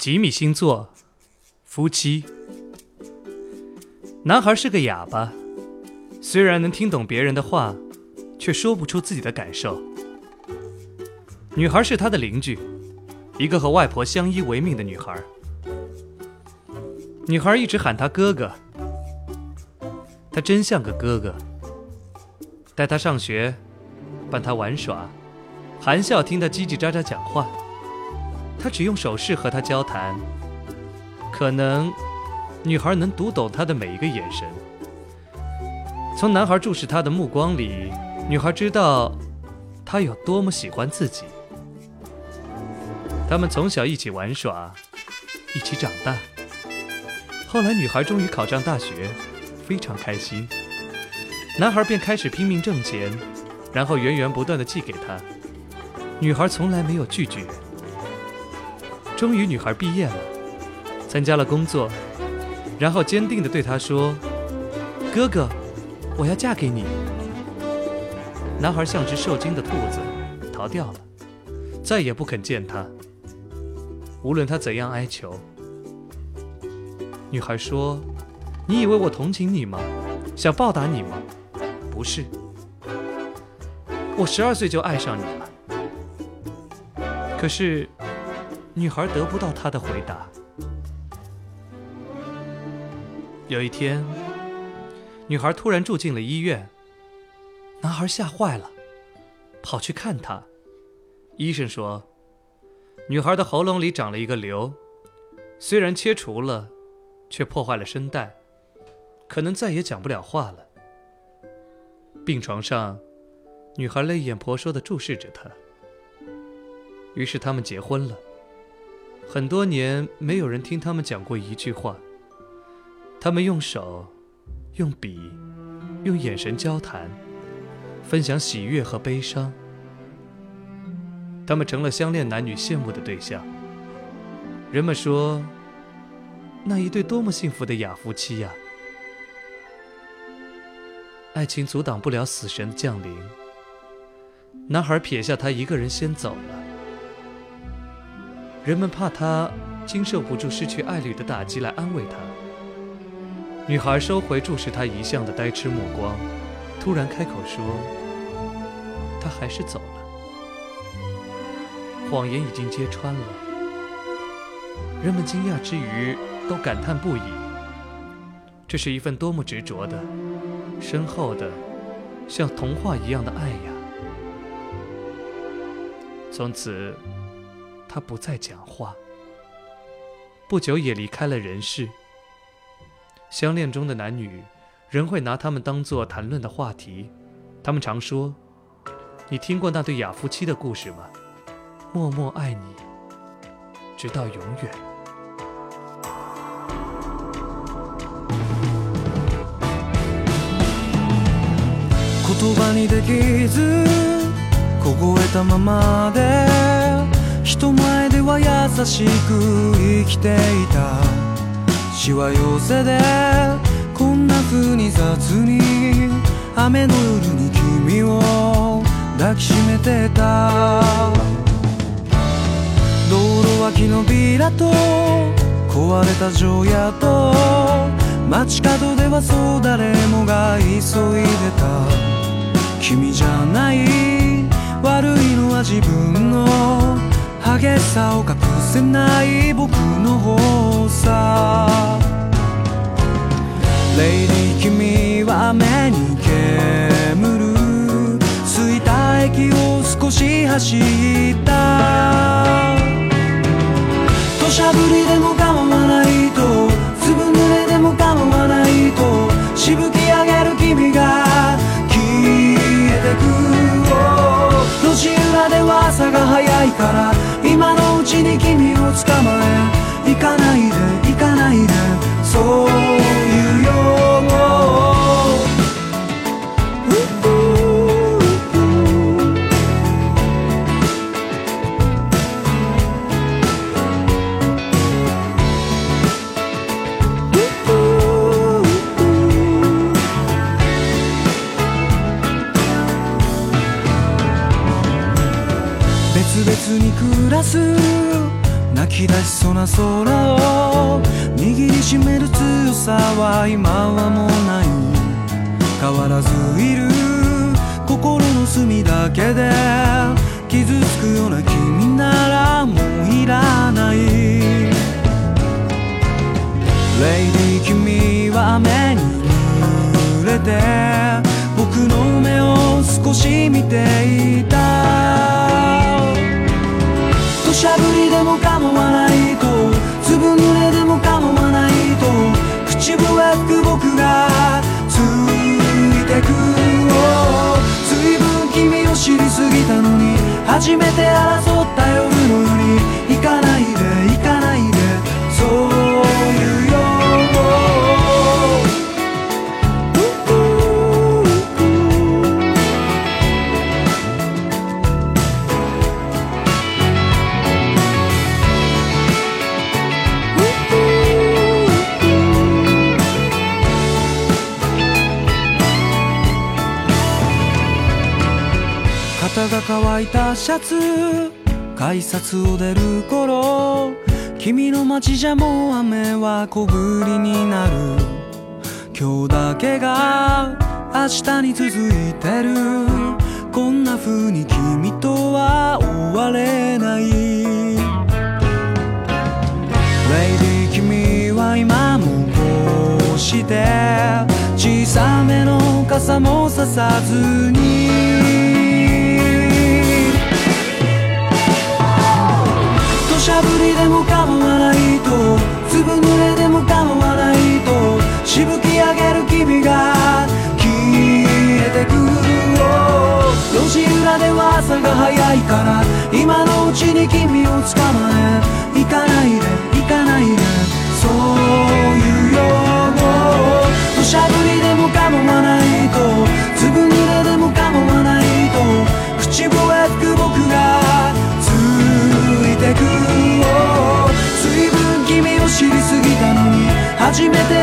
吉米星座，夫妻。男孩是个哑巴，虽然能听懂别人的话，却说不出自己的感受。女孩是他的邻居，一个和外婆相依为命的女孩。女孩一直喊他哥哥，他真像个哥哥，带他上学，伴他玩耍，含笑听他叽叽喳喳讲话。他只用手势和他交谈，可能女孩能读懂他的每一个眼神。从男孩注视他的目光里，女孩知道他有多么喜欢自己。他们从小一起玩耍，一起长大。后来女孩终于考上大学，非常开心。男孩便开始拼命挣钱，然后源源不断地寄给她。女孩从来没有拒绝。终于女孩毕业了，参加了工作，然后坚定地对他说：哥哥，我要嫁给你。男孩像只受惊的兔子逃掉了，再也不肯见他，无论他怎样哀求。女孩说：你以为我同情你吗？想报答你吗？不是，我12岁就爱上你了。可是女孩得不到他的回答。有一天，女孩突然住进了医院，男孩吓坏了，跑去看她。医生说，女孩的喉咙里长了一个瘤，虽然切除了，却破坏了声带，可能再也讲不了话了。病床上，女孩泪眼婆娑地注视着他。于是他们结婚了。很多年没有人听他们讲过一句话，他们用手、用笔、用眼神交谈，分享喜悦和悲伤。他们成了相恋男女羡慕的对象。人们说，那一对多么幸福的哑夫妻呀！爱情阻挡不了死神的降临。男孩撇下他一个人先走了。人们怕他经受不住失去爱侣的打击，来安慰他。女孩收回注视他一向的呆痴目光，突然开口说：他还是走了。谎言已经揭穿了。人们惊讶之余都感叹不已，这是一份多么执着的、深厚的、像童话一样的爱呀！从此他不再讲话，不久也离开了人世。相恋中的男女，人会拿他们当作谈论的话题。他们常说：你听过那对哑夫妻的故事吗？默默爱你，直到永远。 言葉にできず凍えたままで人前では優しく生きていたしわ寄せでこんな風に雑に雨の夜に君を抱きしめてた道路脇のビラと壊れた城屋と街角ではそう誰もが急いでた君じゃない悪いのは自分の激しさを隠せない僕の方さレイディ君は目に煙る着いた駅を少し走った土砂降りでも構わないとずぶ濡れでも構わないとしぶき上げる君が消えてく路地裏では朝が早いから今のうちに君を捕まえ行かないで行かないでそういうよ別々に暮らす泣き出しそうな空を握りしめる強さは今はもうない。変わらずいる心の隅だけで傷つくような君ならもういらない。レイディ君は雨に濡れて僕の目を少し見ていた。土砂降りでも構わないと、ずぶ濡れでも構わないと、口笛吹く僕がついてく。随分君を知りすぎたのに、初めて争った夜のように、行かないで行かないで、そういうよ。肩が乾いたシャツ、改札を出る頃、君の街じゃもう雨は小降りになる。今日だけが明日に続いてる。こんな風に君とは終われない。レイディ君は今もこうして小さめの傘もささずに、土砂降りでも構わないと、ずぶ濡れでも構わないと、しぶき上げる君が消えてく。路地裏では朝が早いから、今のうちに君を捕まえ、行かないで行かないで、そういうよ。土砂降りでも構わないと、ずぶ濡れでも構わないと、口笛吹く僕がついてく。随分君を知りすぎたのに、初めて